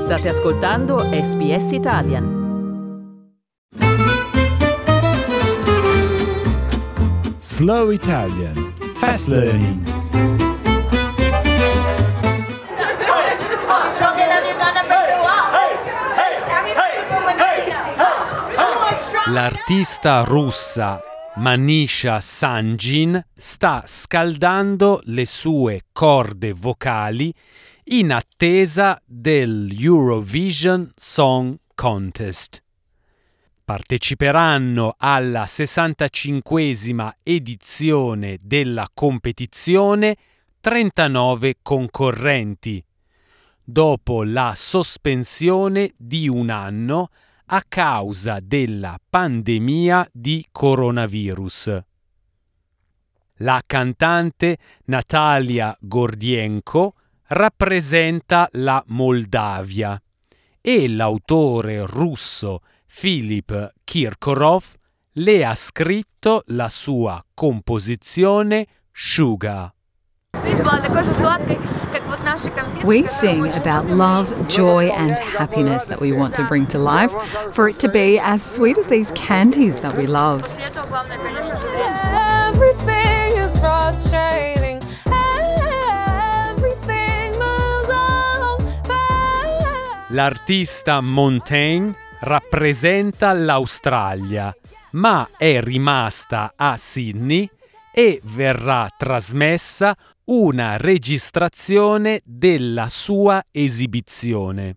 State ascoltando SBS Italian. Slow Italian. Fast Learning. L'artista russa Manisha Sanjin sta scaldando le sue corde vocali in attesa dell'Eurovision Song Contest. Parteciperanno alla 65esima edizione della competizione 39 concorrenti, dopo la sospensione di un anno a causa della pandemia di coronavirus. La cantante Natalia Gordienko rappresenta la Moldavia e l'autore russo Filip Kirkorov le ha scritto la sua composizione Sugar. We sing about love, joy and happiness that we want to bring to life, for it to be as sweet as these candies that we love. Everything is frustrating. Everything moves on fast. L'artista Montaigne rappresenta l'Australia, ma è rimasta a Sydney e verrà trasmessa una registrazione della sua esibizione.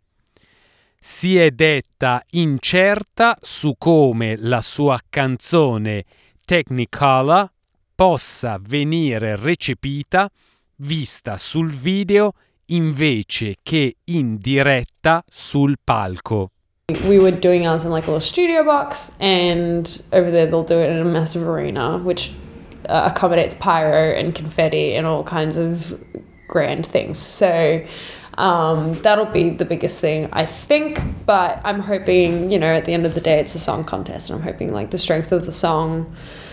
Si è detta incerta su come la sua canzone Technicolor possa venire recepita vista sul video invece che in diretta sul palco. We were doing ours in like a little studio box, and over there they'll do it in a massive arena, which accommodates pyro and confetti and all kinds of grand things. So that'll be the biggest thing, I think. But I'm hoping, you know, at the end of the day, it's a song contest, and I'm hoping like the strength of the song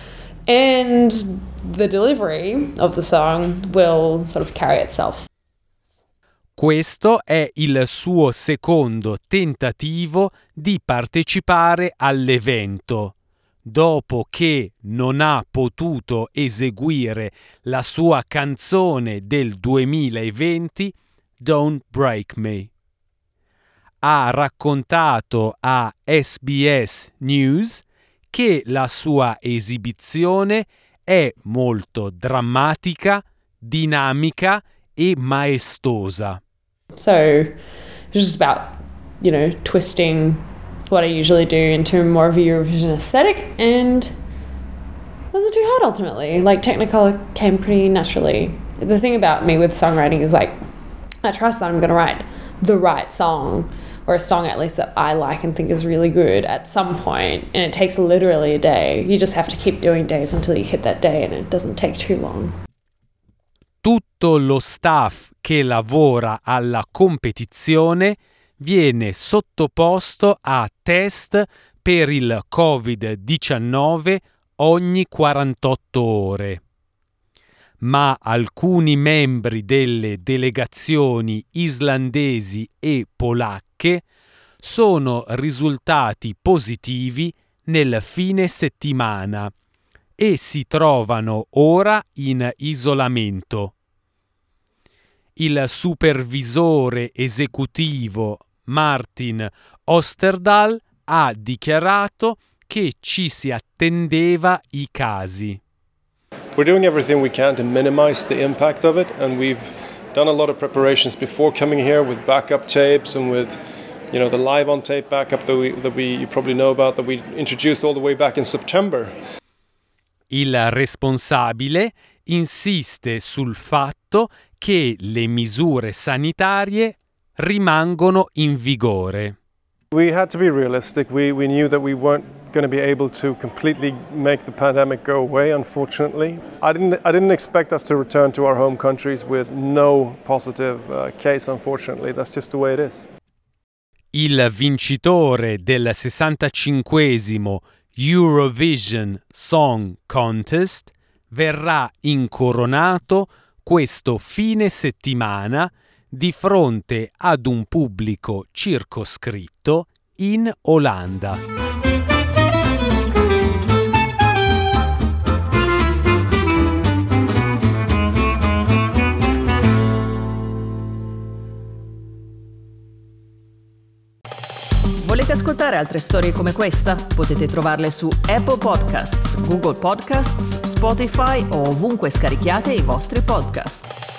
and the delivery of the song will sort of carry itself. Questo è il suo secondo tentativo di partecipare all'evento, dopo che non ha potuto eseguire la sua canzone del 2020, Don't Break Me. Ha raccontato a SBS News che la sua esibizione è molto drammatica, dinamica e maestosa. So it's just about, you know, twisting what I usually do into more of a Eurovision aesthetic, and it wasn't too hard ultimately. Like Technicolor came pretty naturally. The thing about me with songwriting is like I trust that I'm going to write the right song, or a song at least that I like and think is really good at some point, and it takes literally a day. You just have to keep doing days until you hit that day, and it doesn't take too long. Tutto lo staff che lavora alla competizione viene sottoposto a test per il Covid-19 ogni 48 ore. Ma alcuni membri delle delegazioni islandesi e polacche sono risultati positivi nel fine settimana e si trovano ora in isolamento. Il supervisore esecutivo Martin Osterdahl ha dichiarato che ci si attendeva i casi. We're doing everything we can to minimize the impact of it, and we've done a lot of preparations before coming here with backup tapes and with, you know, the live on tape backup that we you probably know about, that we introduced all the way back in September. Il responsabile insiste sul fatto che le misure sanitarie rimangono in vigore. We had to be realistic. We knew that we weren't going to be able to completely make the pandemic go away, unfortunately. I didn't expect us to return to our home countries with no positive case, unfortunately. That's just the way it is. Il vincitore del 65esimo Eurovision Song Contest verrà incoronato questo fine settimana di fronte ad un pubblico circoscritto in Olanda. Volete ascoltare altre storie come questa? Potete trovarle su Apple Podcasts, Google Podcasts, Spotify o ovunque scarichiate i vostri podcast.